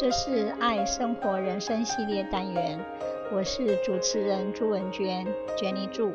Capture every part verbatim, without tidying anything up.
這是愛生活人生系列單元，我是主持人朱文娟 Jenny 朱。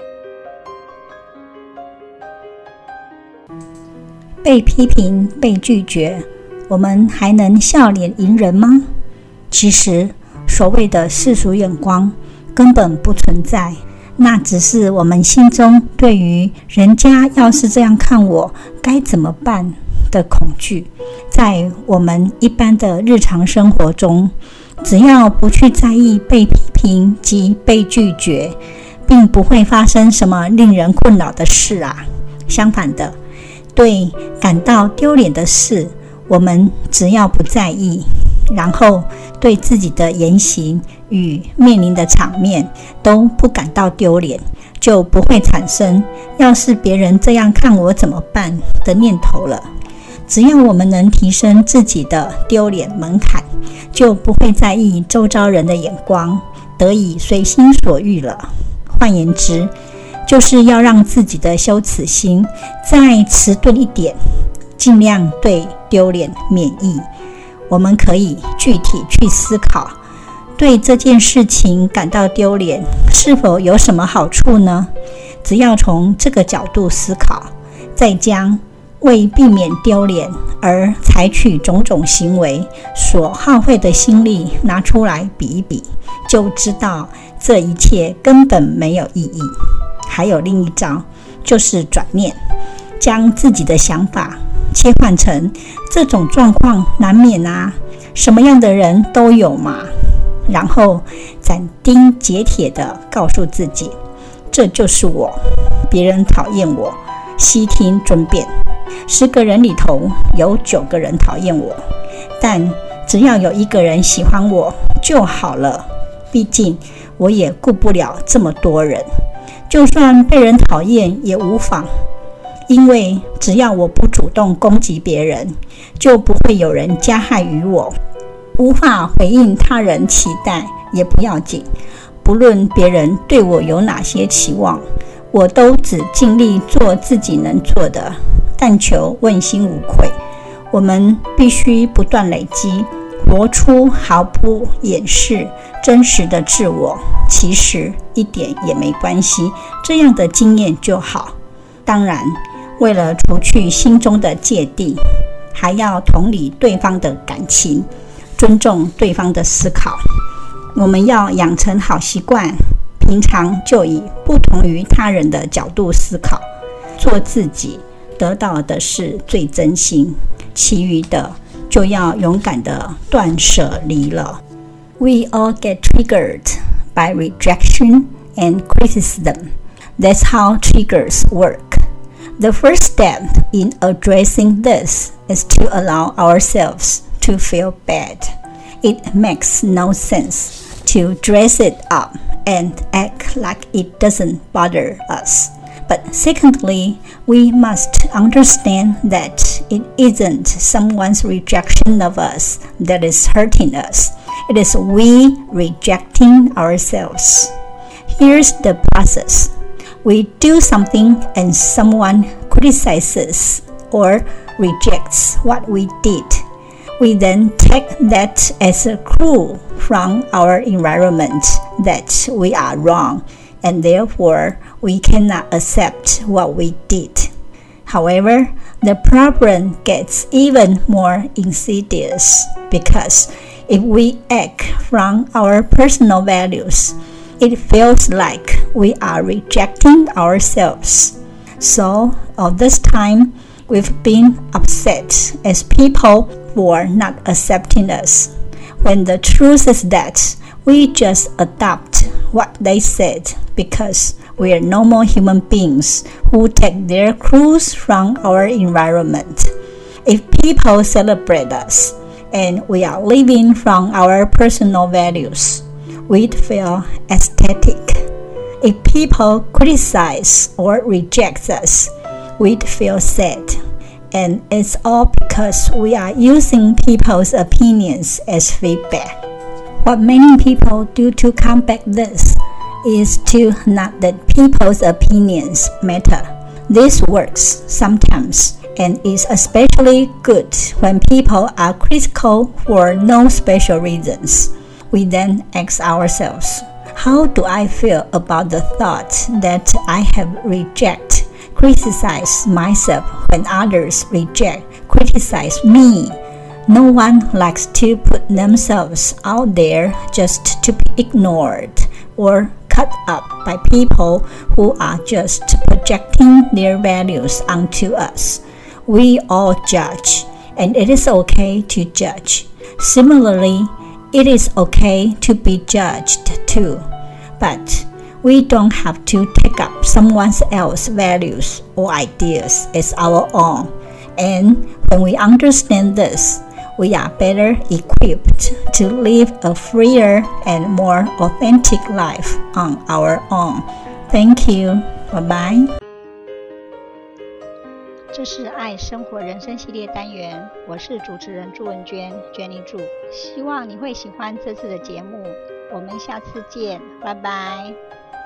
被批評、被拒絕，我們還能笑臉迎人嗎？其實，所謂的世俗眼光根本不存在，那只是我們心中對於人家要是這樣看我，該怎麼辦的恐懼。在我們一般的日常生活中，只要不去在意被批評及被拒絕，並不會發生什麼令人困擾的事啊。相反的，對感到丟臉的事，我們只要不在意，然後對自己的言行與面臨的場面都不感到丟臉，就不會產生要是別人這樣看我怎麼辦的念頭了。只要我們能提升自己的丟臉門檻，就不會在意周遭人的眼光，得以隨心所欲了。換言之，就是要讓自己的羞恥心再遲鈍一點，盡量對丟臉免疫。我們可以具體去思考，對這件事情感到丟臉，是否有什麼好處呢？只要從這個角度思考，再將為避免丟臉而採取種種行為所耗費的心力拿出來比一比，就知道這一切根本沒有意義。還有另一招，就是轉念，將自己的想法切換成這種狀況難免啊，什麼樣的人都有嘛。然後斬釘截鐵地告訴自己，這就是我，別人討厭我，悉聽尊便。十個人裡頭有九個人討厭我，但只要有一個人喜歡我就好了。畢竟我也顧不了這麼多人，就算被人討厭也無妨，因為只要我不主動攻擊別人，就不會有人加害於我。無法回應他人期待也不要緊，不論別人對我有哪些期望，我都只盡力做自己能做的，但求問心無愧。我們必須不斷累積，活出毫不掩飾真實的自我，其實一點也沒關係，這樣的經驗就好。當然，為了除去心中的芥蒂，還要同理對方的感情，尊重對方的思考。我們要養成好習慣，平常就以不同於他人的角度思考，做自己，得到的是最真心，其餘的就要勇敢的斷捨離了。We all get triggered by rejection and criticism. That's how triggers work. The first step in addressing this is to allow ourselves to feel bad. It makes no sense to dress it up and act like it doesn't bother us. But secondly, we must understand that it isn't someone's rejection of us that is hurting us. It is we rejecting ourselves. Here's the process. We do something and someone criticizes or rejects what we did. We then take that as a clue from our environment that we are wrong, and therefore we cannot accept what we did. However, the problem gets even more insidious because if we act from our personal values, it feels like we are rejecting ourselves. So, all this time, we've been upset as people for not accepting us, when the truth is that we just adopt what they said because we are normal human beings who take their clues from our environment. If people celebrate us and we are living from our personal values, we'd feel ecstatic. If people criticize or reject us, we'd feel sad. And it's all because we are using people's opinions as feedback. What many people do to combat this is to not let people's opinions matter. This works sometimes and is especially good when people are critical for no special reasons. We then ask ourselves, how do I feel about the thought that I have rejected, criticize myself when others reject, criticize me? No one likes to put themselves out there just to be ignored or cut up by people who are just projecting their values onto us. We all judge, and it is okay to judge. Similarly, it is okay to be judged too, but we don't have to take up someone else's values or ideas as our own. And when we understand this, we are better equipped to live a freer and more authentic life on our own. Thank you. Bye-bye. 這是愛生活人生系列單元，我是主持人朱文娟 Jenny 朱，希望你會喜歡這次的節目，我們下次見，拜拜。